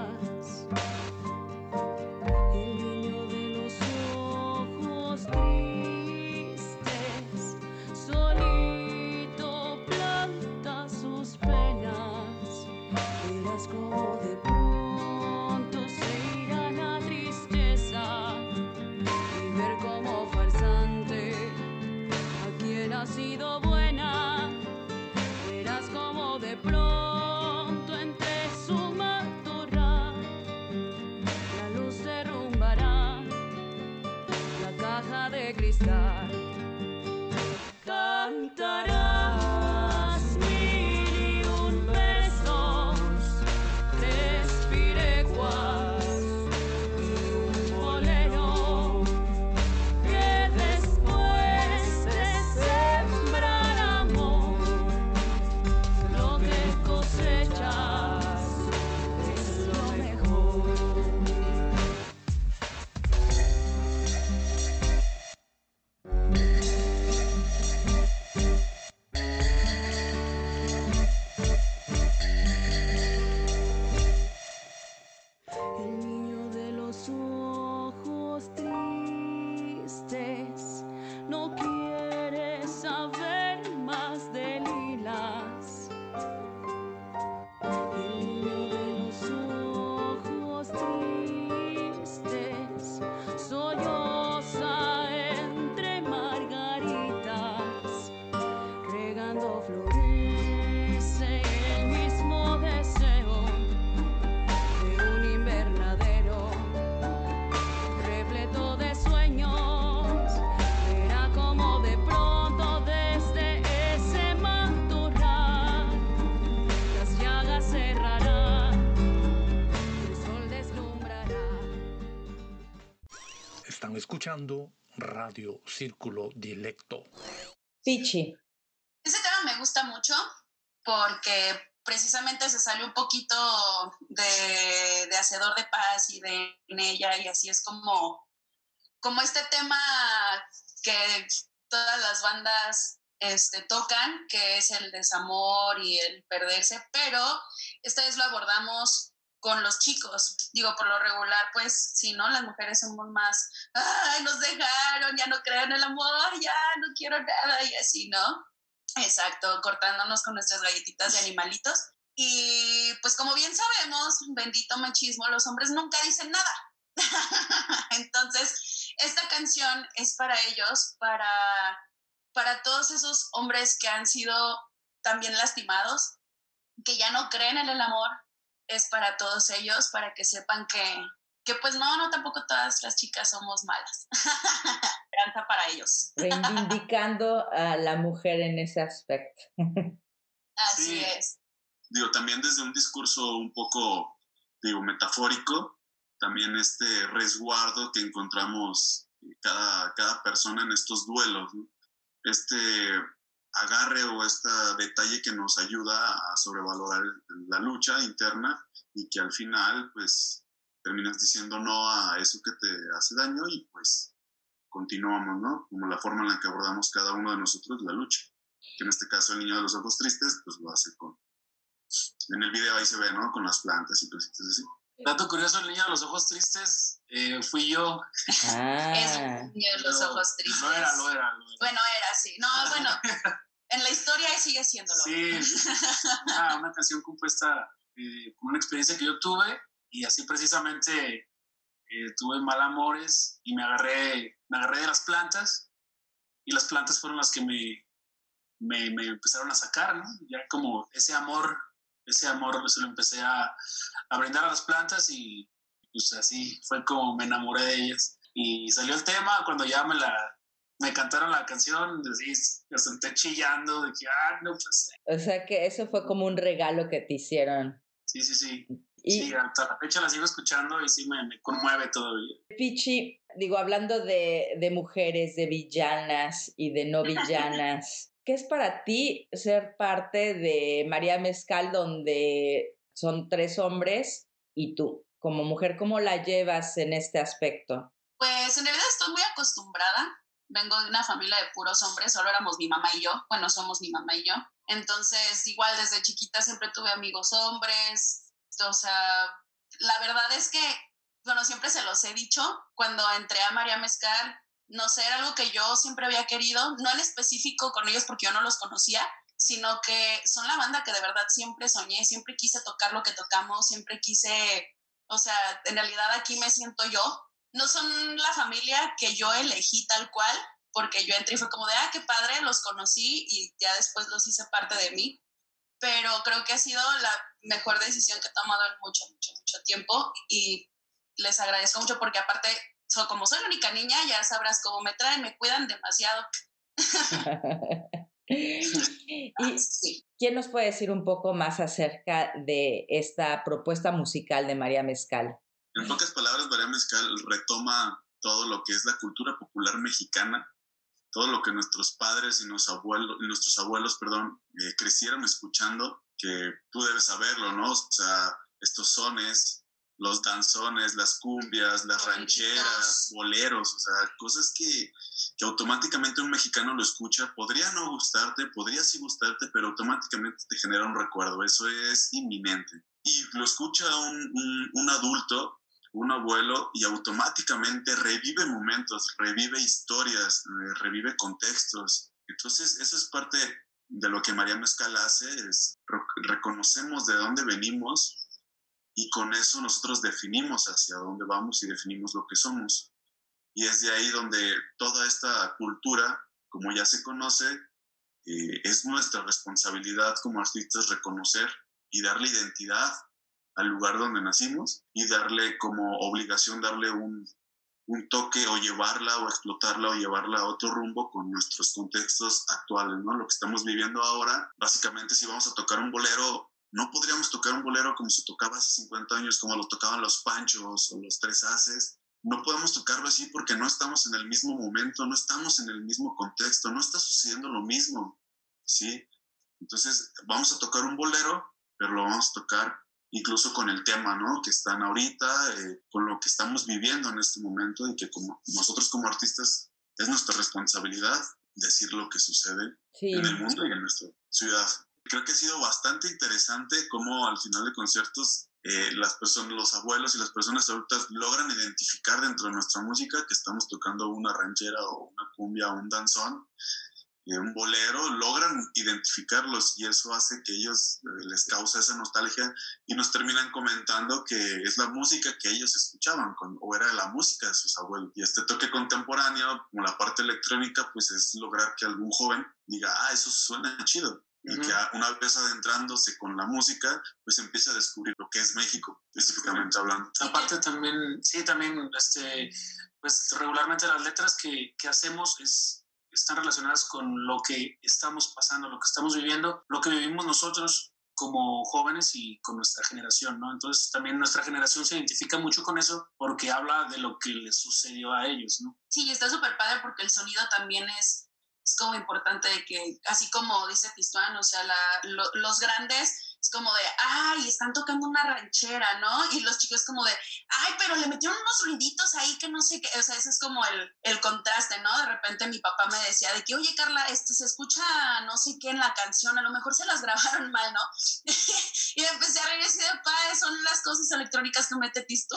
Como de pronto se irá la tristeza y ver como farsante a quien ha sido buena. Verás como de pronto entre su matorral la luz derrumbará la caja de cristal. Cantarás mil y un versos, tres pireguas y un bolero, que después de sembrar amor, lo que cosechas es lo mejor. El niño de los ojos tristes no quiere saber más de lilas. El niño de los ojos tristes solloza entre margaritas, regando florece el mismo deseo de un invernadero repleto de sueños. Verá como de pronto desde ese matorral las llagas cerrarán, el sol deslumbrará. Están escuchando Radio Círculo Dilecto. Pichi. Ese tema me gusta mucho porque precisamente se sale un poquito de, de Hacedor de Paz y de en ella, y así es como, como este tema que todas las bandas este, tocan, que es el desamor y el perderse, pero esta vez lo abordamos con los chicos. Digo, por lo regular, pues, sí, ¿no? Las mujeres somos más, ay, nos dejaron, ya no creen en el amor, ya no quiero nada, y así, ¿no? Exacto, cortándonos con nuestras galletitas de animalitos. Y pues como bien sabemos, bendito machismo, los hombres nunca dicen nada. Entonces, esta canción es para ellos, para, para todos esos hombres que han sido también lastimados, que ya no creen en el amor, es para todos ellos, para que sepan que, que pues no, no, tampoco todas las chicas somos malas. Esperanza para ellos. Reivindicando a la mujer en ese aspecto. Así Sí. es. Digo, también desde un discurso un poco, digo, metafórico, también este resguardo que encontramos cada, cada persona en estos duelos, ¿no? Este agarre o este detalle que nos ayuda a sobrevalorar la lucha interna y que al final, pues, terminas diciendo no a eso que te hace daño y pues continuamos, ¿no? Como la forma en la que abordamos cada uno de nosotros la lucha. Que en este caso el niño de los ojos tristes, pues lo hace con... En el video ahí se ve, ¿no? Con las plantas y cositas así. Dato curioso, el niño de los ojos tristes eh, fui yo. Ah. Es un niño de los Lo- ojos tristes. Lo era, lo era. Lo era. Bueno, era así. No, bueno, en la historia sigue siéndolo. Sí, una, una canción compuesta eh, con una experiencia que yo tuve y así precisamente eh, tuve mal amores y me agarré, me agarré de las plantas y las plantas fueron las que me, me, me empezaron a sacar, ¿no? Ya como ese amor, ese amor se lo empecé a, a brindar a las plantas y pues así fue como me enamoré de ellas. Y salió el tema cuando ya me la... Me cantaron la canción, así, me senté chillando, de que, ah, no, pues, O sea que eso fue como un regalo que te hicieron. sí, sí, sí. Y Sí, hasta la fecha la sigo escuchando y sí me, me conmueve todavía. Pichi, digo, hablando de, de mujeres, de villanas y de no villanas, ¿qué es para ti ser parte de María Mezcal, donde son tres hombres y tú? Como mujer, ¿cómo la llevas en este aspecto? Pues en realidad estoy muy acostumbrada. Vengo de una familia de puros hombres, solo éramos mi mamá y yo. Bueno, somos mi mamá y yo. Entonces, igual desde chiquita siempre tuve amigos hombres. O sea, la verdad es que, bueno, siempre se los he dicho. Cuando entré a María Mezcal, no sé, era algo que yo siempre había querido. No en específico con ellos porque yo no los conocía, sino que son la banda que de verdad siempre soñé. Siempre quise tocar lo que tocamos, siempre quise... O sea, en realidad aquí me siento yo. No son la familia que yo elegí tal cual, porque yo entré y fue como de, ah, qué padre, los conocí y ya después los hice parte de mí. Pero creo que ha sido la mejor decisión que he tomado en mucho, mucho, mucho tiempo y les agradezco mucho porque aparte, so, como soy la única niña, ya sabrás cómo me traen, me cuidan demasiado. ¿Y Sí. quién nos puede decir un poco más acerca de esta propuesta musical de María Mezcal? En pocas palabras, María Mezcal retoma todo lo que es la cultura popular mexicana, todo lo que nuestros padres y nuestros abuelos, nuestros abuelos perdón, eh, crecieron escuchando, que tú debes saberlo, ¿no? O sea, estos sones, los danzones, las cumbias, las rancheras, boleros, o sea, cosas que, que automáticamente un mexicano lo escucha, podría no gustarte, podría sí gustarte, pero automáticamente te genera un recuerdo, eso es inminente. Y lo escucha un, un, un adulto, un abuelo, y automáticamente revive momentos, revive historias, revive contextos. Entonces, eso es parte de lo que María Mezcal hace, es reconocemos de dónde venimos y con eso nosotros definimos hacia dónde vamos y definimos lo que somos. Y es de ahí donde toda esta cultura, como ya se conoce, eh, es nuestra responsabilidad como artistas reconocer y darle identidad al lugar donde nacimos y darle como obligación, darle un, un toque o llevarla o explotarla o llevarla a otro rumbo con nuestros contextos actuales, ¿no? Lo que estamos viviendo ahora, básicamente si vamos a tocar un bolero, no podríamos tocar un bolero como se tocaba hace cincuenta años, como lo tocaban los Panchos o los Tres Haces. No podemos tocarlo así porque no estamos en el mismo momento, no estamos en el mismo contexto, no está sucediendo lo mismo, ¿sí? Entonces vamos a tocar un bolero, pero lo vamos a tocar incluso con el tema, ¿no? Que están ahorita, eh, con lo que estamos viviendo en este momento y que como nosotros como artistas es nuestra responsabilidad decir lo que sucede Sí. en el mundo y en nuestra ciudad. Creo que ha sido bastante interesante cómo al final de conciertos eh, las personas, los abuelos y las personas adultas logran identificar dentro de nuestra música que estamos tocando una ranchera o una cumbia o un danzón, un bolero, logran identificarlos y eso hace que ellos eh, les causa esa nostalgia y nos terminan comentando que es la música que ellos escuchaban con, o era la música de sus abuelos. Y este toque contemporáneo, como la parte electrónica, pues es lograr que algún joven diga, ah, eso suena chido. Y uh-huh. que una vez adentrándose con la música, pues empieza a descubrir lo que es México, específicamente hablando. Aparte también, sí, también, este, pues regularmente las letras que, que hacemos es están relacionadas con lo que estamos pasando, lo que estamos viviendo, lo que vivimos nosotros como jóvenes y con nuestra generación, ¿no? Entonces también nuestra generación se identifica mucho con eso porque habla de lo que les sucedió a ellos, ¿no? Sí, está súper padre porque el sonido también es, es como importante de que, así como dice Tistuán, o sea, la, lo, los grandes es como de, ay, están tocando una ranchera, ¿no? Y los chicos como de, ay, pero le metieron unos ruiditos ahí que no sé qué, o sea, ese es como el, el contraste, ¿no? De repente mi papá me decía de que, oye, Carla, este, se escucha no sé qué en la canción, a lo mejor se las grabaron mal, ¿no? Y empecé a reír así de, pa, son las cosas electrónicas que mete Tisto.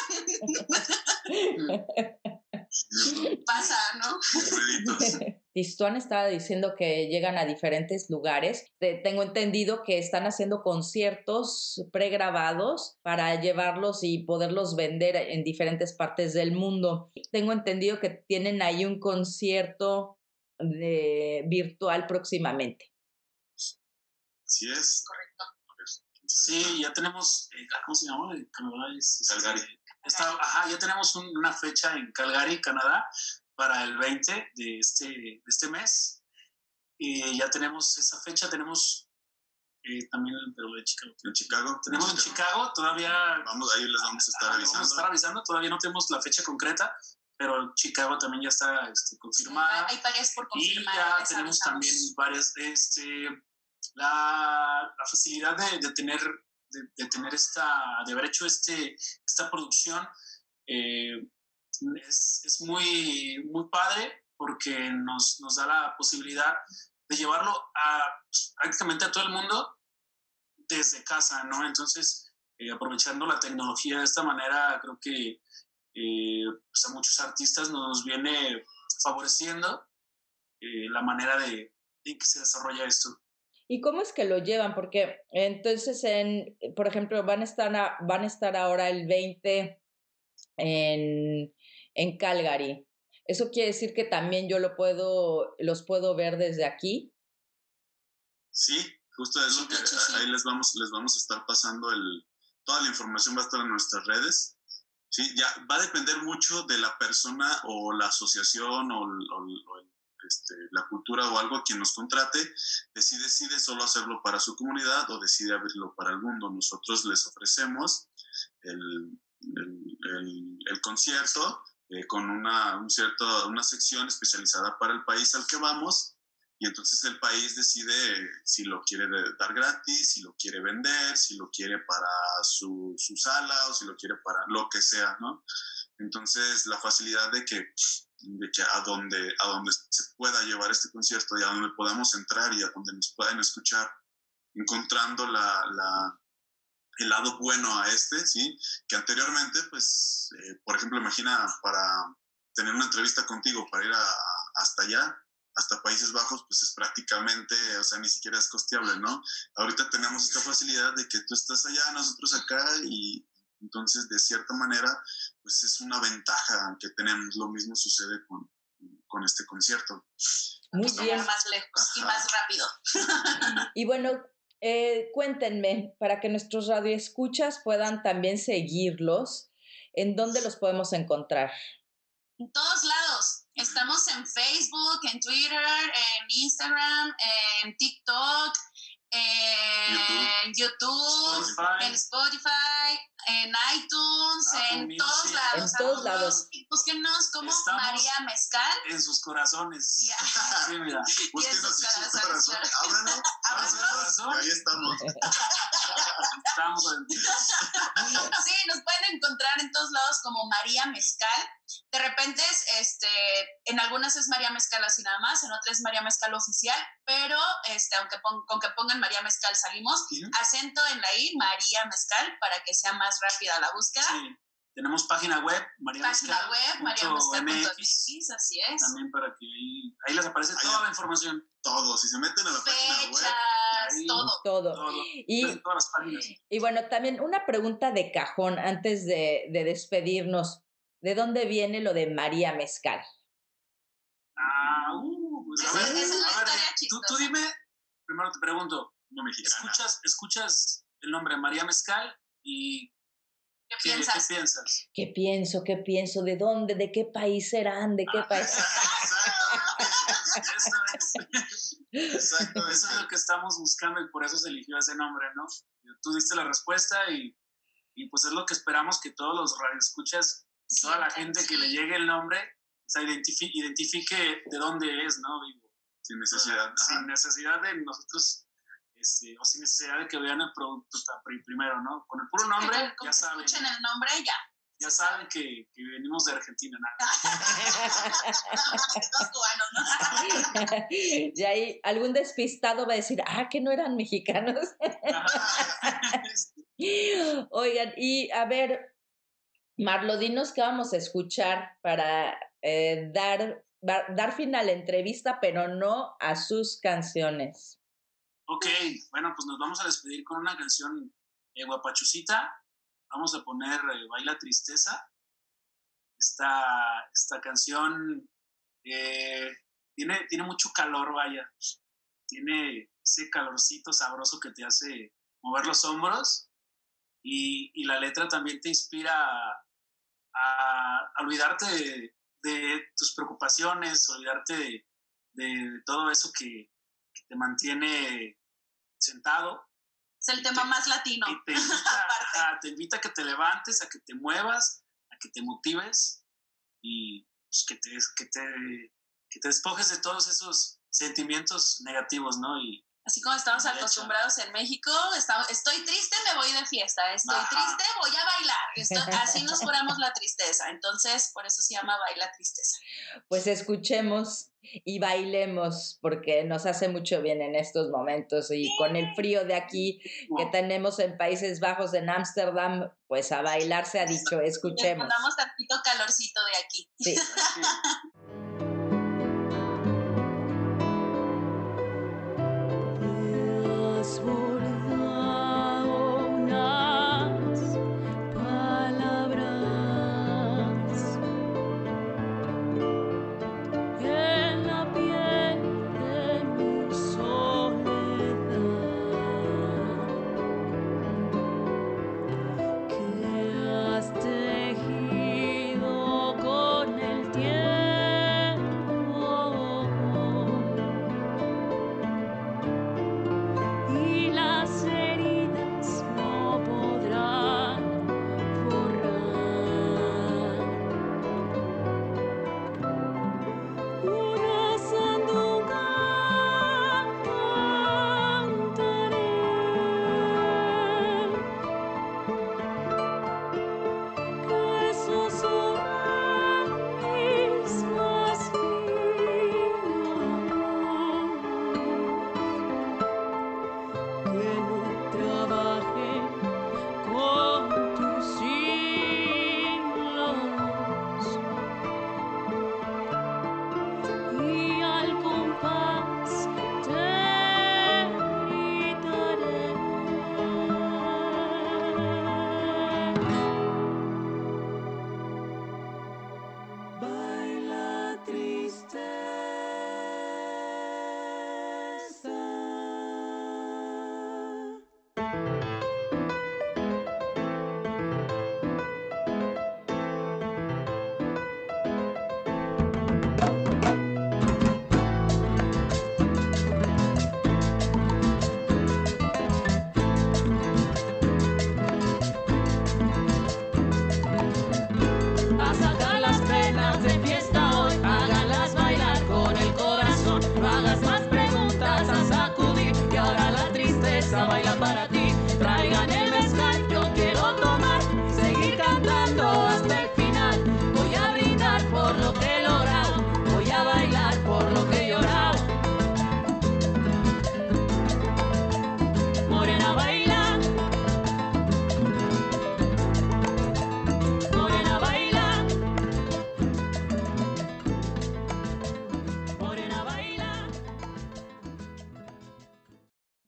Pasa, ¿no? Tistuán estaba diciendo que llegan a diferentes lugares. Tengo entendido que están haciendo conciertos pregrabados para llevarlos y poderlos vender en diferentes partes del mundo. Tengo entendido que tienen ahí un concierto de, virtual próximamente. Así es. Correcto. Sí, ya tenemos, ¿cómo se llama? Canadá es, Calgary. Está, ajá, ya tenemos un, una fecha en Calgary, Canadá, para el veinte de este, de este mes. Y ya tenemos esa fecha, tenemos eh, también en Perú, de Chicago. En Chicago. Tenemos en Chicago, todavía... Vamos, ahí les vamos a estar ajá, avisando. Vamos a estar avisando, todavía no tenemos la fecha concreta, pero Chicago también ya está este, confirmada. Sí, hay varias por confirmar. Y ya tenemos avisamos. También varias, este, la, la facilidad de, de tener... De, de tener esta, de haber hecho este, esta producción, eh, es, es muy, muy padre porque nos, nos da la posibilidad de llevarlo a pues, prácticamente a todo el mundo desde casa, ¿no? Entonces, eh, aprovechando la tecnología de esta manera, creo que eh, pues a muchos artistas nos viene favoreciendo eh, la manera de, de que se desarrolla esto. ¿Y cómo es que lo llevan? Porque entonces, en, por ejemplo, van a estar, a, van a estar ahora el veinte en, en Calgary. ¿Eso quiere decir que también yo lo puedo, los puedo ver desde aquí? Sí, justo es lo que ahí les vamos, les vamos a estar pasando el, toda la información va a estar en nuestras redes. Sí, ya va a depender mucho de la persona o la asociación o, o, o el Este, la cultura o algo quien nos contrate, si decide solo hacerlo para su comunidad o decide abrirlo para el mundo. Nosotros les ofrecemos el, el, el, el concierto eh, con una, un cierto, una sección especializada para el país al que vamos y entonces el país decide si lo quiere dar gratis, si lo quiere vender, si lo quiere para su, su sala o si lo quiere para lo que sea, ¿no? Entonces la facilidad de que de que a donde, a donde se pueda llevar este concierto y a donde podamos entrar y a donde nos puedan escuchar, encontrando la, la, el lado bueno a este, ¿sí? Que anteriormente, pues, eh, por ejemplo, imagina para tener una entrevista contigo, para ir a, a, hasta allá, hasta Países Bajos, pues es prácticamente, o sea, ni siquiera es costeable, ¿no? Ahorita tenemos esta facilidad de que tú estás allá, nosotros acá y... Entonces, de cierta manera, pues es una ventaja que tenemos. Lo mismo sucede con, con este concierto. Muy Estamos bien. Más lejos Ajá. y más rápido. Y bueno, eh, cuéntenme, para que nuestros radioescuchas puedan también seguirlos, ¿en dónde los podemos encontrar? En todos lados. Estamos en Facebook, en Twitter, en Instagram, en TikTok, en YouTube, YouTube Spotify. en Spotify, en iTunes, Apple en Music. Todos lados. En todos lados. Búsquenos como Estamos María Mezcal. En sus corazones. Yeah. Sí, mira. Búsquenos en sus corazones. Ábranos. Ábranos. Ahí estamos. Estamos en... Sí, nos pueden encontrar en todos lados como María Mezcal. De repente, es, este, en algunas es María Mezcal así nada más, en otras es María Mezcal oficial, pero este, aunque pon, con que pongan María Mezcal salimos, uh-huh. acento en la I, María Mezcal, para que sea más rápida la búsqueda. Sí. Tenemos página web, María Página Mezcal. web, maría mezcal punto m x, así es. También para que ahí, ahí les aparece ahí toda la información. Todo, si se meten a la Fechas, página web. Ahí, todo. Todo. todo. Y, todas las páginas. Y bueno, también una pregunta de cajón antes de, de despedirnos. ¿De dónde viene lo de María Mezcal? Ah, uh, pues es, a ver, es una a ver, historia tú, chistosa. tú dime, primero te pregunto, no mexicana. ¿escuchas, ¿escuchas el nombre María Mezcal y ¿Qué, ¿qué piensas? ¿Qué piensas? ¿Qué pienso? ¿Qué pienso? ¿De dónde? ¿De qué país serán? ¿De qué Ah, país? Eso es. Exacto, eso es lo que estamos buscando y por eso se eligió ese nombre, ¿no? Tú diste la respuesta y, y pues es lo que esperamos que todos los radioescuchas y sí, toda la gente sí. que le llegue el nombre, o sea, identifique, identifique de dónde es, ¿no? Digo, sin necesidad. Sin necesidad de nosotros, este, o sin necesidad de que vean el producto primero, ¿no? Con el puro nombre, con, con ya saben. Escuchen el nombre, ya. Ya saben que, que venimos de Argentina, nada. Los cubanos, ¿no? Y ahí algún despistado va a decir, ah, que no eran mexicanos. Oigan, y a ver, Marlo, dinos qué vamos a escuchar para eh, dar, dar fin a la entrevista, pero no a sus canciones. Ok, bueno, pues nos vamos a despedir con una canción eh, guapachucita. Vamos a poner eh, Baila Tristeza. Esta, esta canción eh, tiene, tiene mucho calor, vaya. Tiene ese calorcito sabroso que te hace mover los hombros. Y, y la letra también te inspira a, a, a olvidarte de, de tus preocupaciones, olvidarte de, de, de todo eso que, que te mantiene sentado. Es el tema te, más latino. Y te invita, a, te invita a que te levantes, a que te muevas, a que te motives y pues, que, te, que, te, que te despojes de todos esos sentimientos negativos, ¿no? Y, así como estamos acostumbrados en México, está, estoy triste, me voy de fiesta, estoy Ajá. triste, voy a bailar. Estoy, así nos curamos la tristeza. Entonces, por eso se llama Baila Tristeza. Pues escuchemos y bailemos, porque nos hace mucho bien en estos momentos. Y sí. con el frío de aquí que tenemos en Países Bajos, en Ámsterdam, pues a bailar se ha dicho, escuchemos. Le mandamos tantito calorcito de aquí. Sí. Baila para ti, traigan el mezcal, yo quiero tomar, seguir cantando.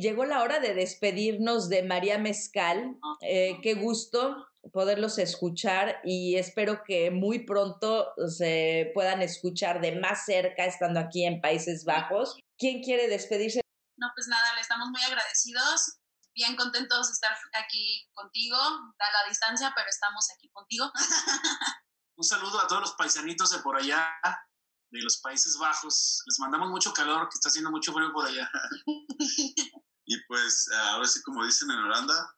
Llegó la hora de despedirnos de María Mezcal. Eh, qué gusto poderlos escuchar y espero que muy pronto se puedan escuchar de más cerca estando aquí en Países Bajos. ¿Quién quiere despedirse? No, pues nada, le estamos muy agradecidos, bien contentos de estar aquí contigo, a la distancia, pero estamos aquí contigo. Un saludo a todos los paisanitos de por allá, de los Países Bajos. Les mandamos mucho calor, que está haciendo mucho frío por allá. Y pues, ahora sí, como dicen en Holanda,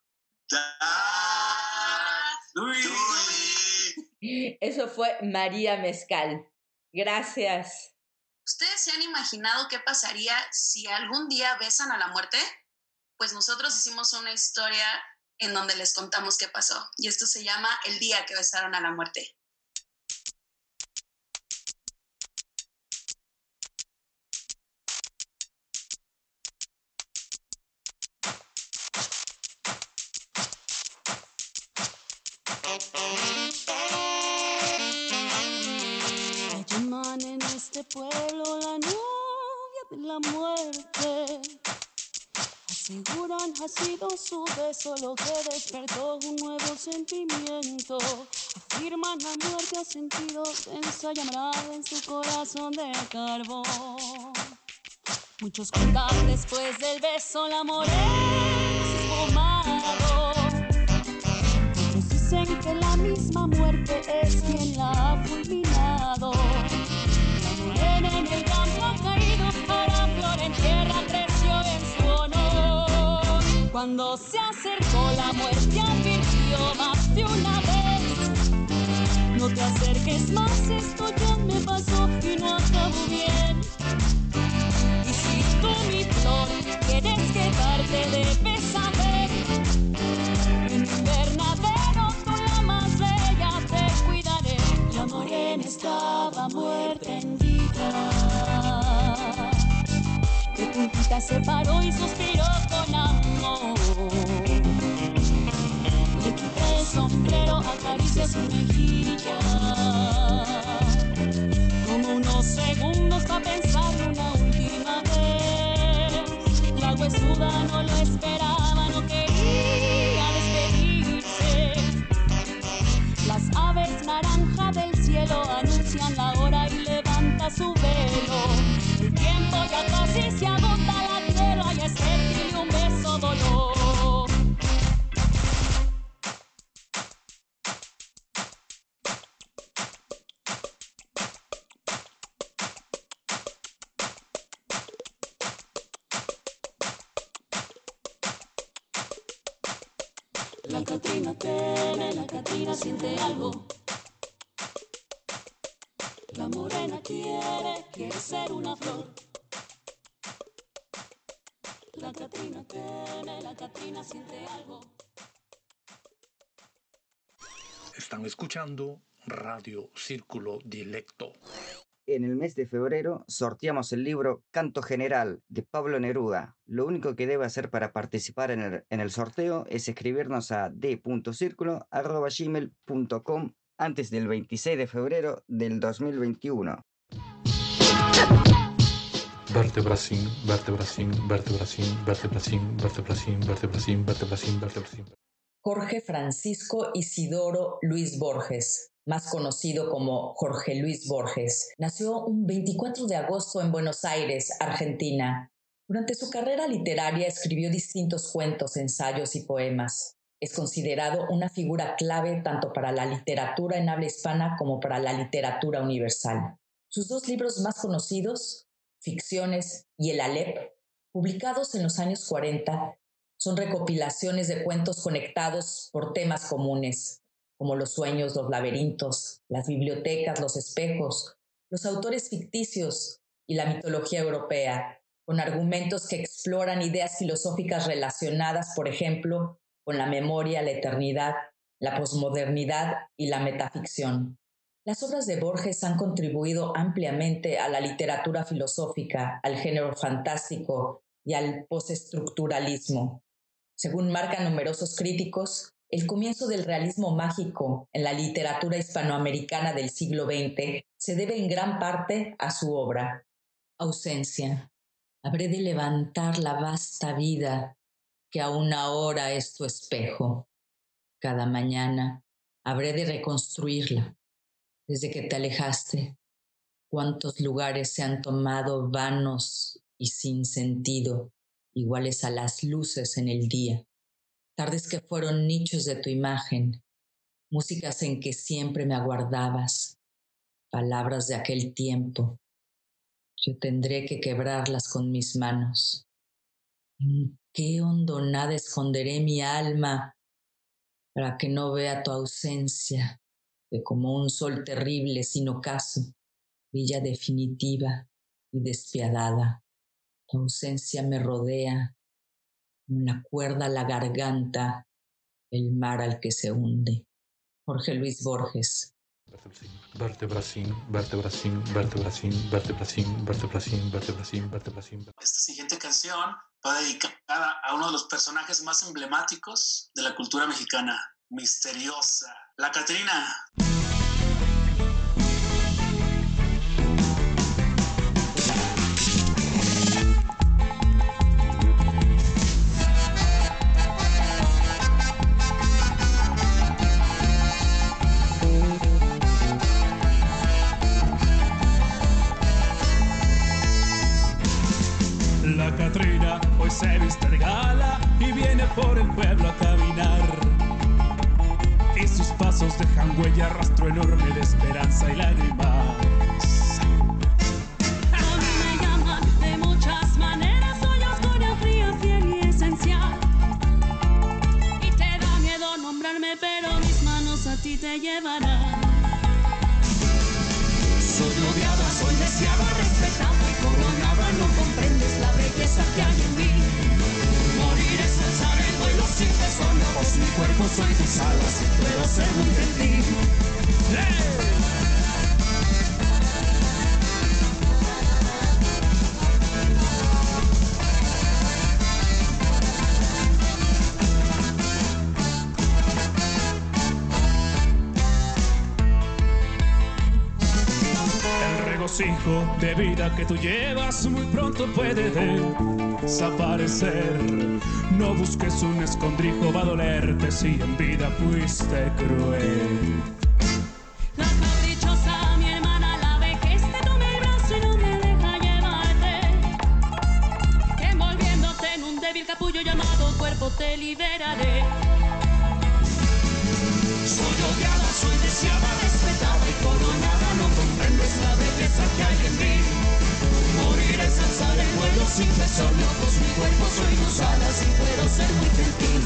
Doei. Eso fue María Mezcal. Gracias. ¿Ustedes se han imaginado qué pasaría si algún día besan a la muerte? Pues nosotros hicimos una historia en donde les contamos qué pasó. Y esto se llama El día que besaron a la muerte. La llaman en este pueblo la novia de la muerte. Aseguran ha sido su beso lo que despertó un nuevo sentimiento. Afirman la muerte ha sentido densa llamada en su corazón de carbón. Muchos cuentan después del beso la morena se esfumado. Otros dicen que la misma muerte es quien la ha fulminado. La morena en el campo ha caído, ahora flor en tierra creció en su honor. Cuando se acercó la muerte advirtió más de una vez: no te acerques más, esto ya me pasó y no acabó bien. Y si tú, mi flor, quieres quedarte, debes saber: en mi invernadero tú la más bella te cuidaré. La morena estaba muerta en vida, de puntita se paró y suspiró con amor. Le quité el sombrero, acaricié su mejilla, como unos segundos para pensar una última vez. La huesuda no lo esperaba, no quería despedirse. Las aves naranja del cielo anuncian la hora y levanta su velo. El tiempo ya casi se agota, la tierra ya es fértil y un beso dolor. La Catrina teme, la Catrina siente algo. La morena quiere, quiere ser una flor. La Catrina teme, la Catrina siente algo. Están escuchando Radio Círculo Dilecto. En el mes de febrero sorteamos el libro Canto General de Pablo Neruda. Lo único que debe hacer para participar en el, en el sorteo es escribirnos a d punto circulo arroba gmail punto com antes del veintiséis de febrero del dos mil veintiuno. Vertebracín, vertebracín, vertebracín, vertebracín, vertebracín, vertebracín, vertebracín, vertebracín. Jorge Francisco Isidoro Luis Borges, más conocido como Jorge Luis Borges, nació un veinticuatro de agosto en Buenos Aires, Argentina. Durante su carrera literaria escribió distintos cuentos, ensayos y poemas. Es considerado una figura clave tanto para la literatura en habla hispana como para la literatura universal. Sus dos libros más conocidos, Ficciones y El Alep, publicados en los años cuarenta, son recopilaciones de cuentos conectados por temas comunes, como los sueños, los laberintos, las bibliotecas, los espejos, los autores ficticios y la mitología europea, con argumentos que exploran ideas filosóficas relacionadas, por ejemplo, con la memoria, la eternidad, la posmodernidad y la metaficción. Las obras de Borges han contribuido ampliamente a la literatura filosófica, al género fantástico y al postestructuralismo. Según marcan numerosos críticos, el comienzo del realismo mágico en la literatura hispanoamericana del siglo veinte se debe en gran parte a su obra, Ausencia. Habré de levantar la vasta vida que aún ahora es tu espejo. Cada mañana habré de reconstruirla. Desde que te alejaste, cuántos lugares se han tomado vanos y sin sentido, iguales a las luces en el día. Tardes que fueron nichos de tu imagen, músicas en que siempre me aguardabas, palabras de aquel tiempo. Yo tendré que quebrarlas con mis manos. ¿En qué hondonada esconderé mi alma para que no vea tu ausencia, que como un sol terrible sin ocaso, brilla definitiva y despiadada? Tu ausencia me rodea, con la cuerda a la garganta, el mar al que se hunde. Jorge Luis Borges. Vertebracín, vertebracín, vertebracín, vertebracín, vertebracín, vertebracín, vertebracín. Esta siguiente canción va dedicada a uno de los personajes más emblemáticos de la cultura mexicana, misteriosa, la Catrina. La Catrina hoy se viste de gala y viene por el pueblo a caminar. Y sus pasos dejan huella, rastro enorme de esperanza y lágrimas. A mí me llaman de muchas maneras, soy oscura, fría, fiel y esencial. Y te da miedo nombrarme, pero mis manos a ti te llevarán. Soy odiada, soy deseada, respetada y coronada. No comprendes la belleza que hay en mí. Morir es alzar el vuelo sin tesonojos. Mi cuerpo soy tus alas y puedo ser muy gentil. ¡Hey! Regocijo de vida que tú llevas muy pronto puede desaparecer. No busques un escondrijo, va a dolerte si en vida fuiste cruel. La caprichosa, mi hermana, la vejez te toma el brazo y no me deja llevarte. Envolviéndote en un débil capullo llamado cuerpo te liberaré. Soy odiada, soy deseada, respetada y coronada. No comprendes la belleza que hay en mí. Morir es alzar el vuelo sin tesonojos. Mi cuerpo soy tus alas y puedo ser muy gentil.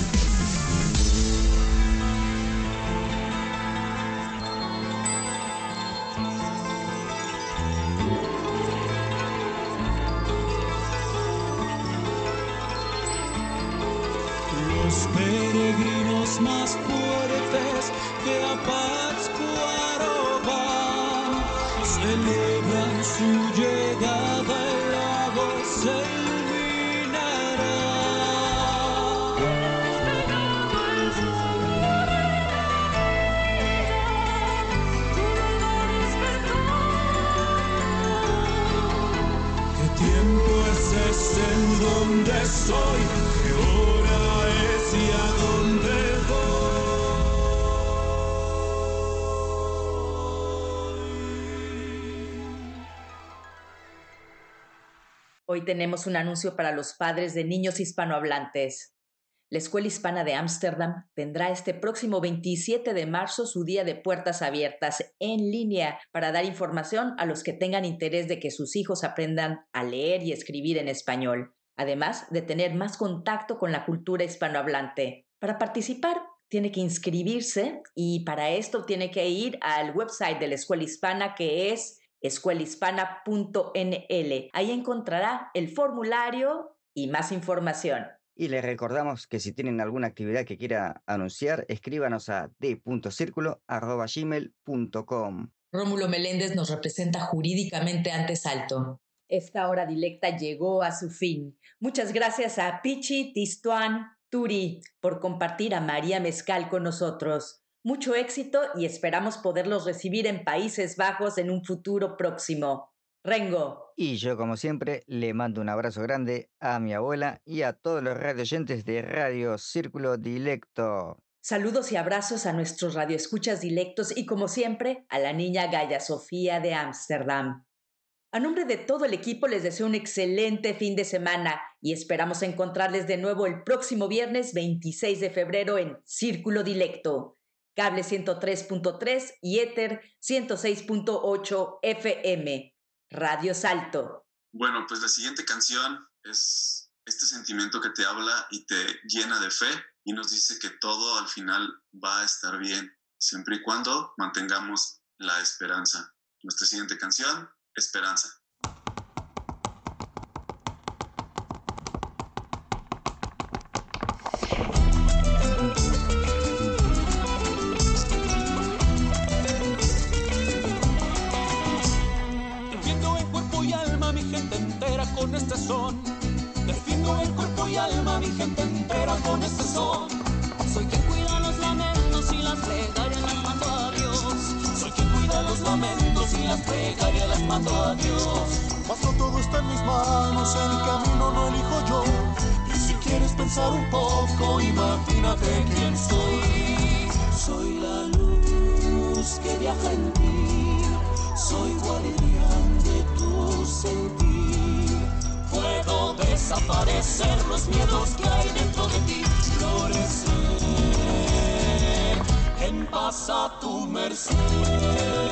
Los peregrinos más fuertes que a Pátzcuaro van celebran su llegada, el lago se iluminará. ¿Qué tiempo es ese en donde estoy? ¿Qué hora es y a dónde voy? Hoy tenemos un anuncio para los padres de niños hispanohablantes. La Escuela Hispana de Ámsterdam tendrá este próximo veintisiete de marzo su día de puertas abiertas en línea para dar información a los que tengan interés de que sus hijos aprendan a leer y escribir en español, además de tener más contacto con la cultura hispanohablante. Para participar, tiene que inscribirse y para esto tiene que ir al website de la Escuela Hispana, que es escuela hispana punto n l. Ahí encontrará el formulario y más información. Y les recordamos que si tienen alguna actividad que quiera anunciar, escríbanos a d punto circulo arroba gmail punto com. Rómulo Meléndez nos representa jurídicamente ante Salto. Esta hora dilecta llegó a su fin. Muchas gracias a Pichi, Tistuan, Turi por compartir a María Mezcal con nosotros. Mucho éxito y esperamos poderlos recibir en Países Bajos en un futuro próximo. Rengo. Y yo, como siempre, le mando un abrazo grande a mi abuela y a todos los radioyentes de Radio Círculo Dilecto. Saludos y abrazos a nuestros radioescuchas dilectos y, como siempre, a la niña Gaya Sofía de Ámsterdam. A nombre de todo el equipo les deseo un excelente fin de semana y esperamos encontrarles de nuevo el próximo viernes veintiséis de febrero en Círculo Dilecto, cable ciento tres punto tres y éter ciento seis punto ocho F M, Radio Salto. Bueno, pues la siguiente canción es este sentimiento que te habla y te llena de fe y nos dice que todo al final va a estar bien, siempre y cuando mantengamos la esperanza. Nuestra siguiente canción, Esperanza. Defiendo en cuerpo y alma mi gente entera con este son. Defiendo en cuerpo y alma mi gente entera con este son. Soy quien cuida los lamentos y las plegarias las mando a Dios. Soy quien cuida los lamentos y las plegarias las mando a Dios. Mas no todo está en mis manos, el camino no elijo yo. Y si quieres pensar un poco, imagínate quién soy. Soy la luz que viaja en ti. Soy guardián de tu sentir. Puedo desaparecer los miedos que hay dentro de ti. Florecer en paz a tu merced.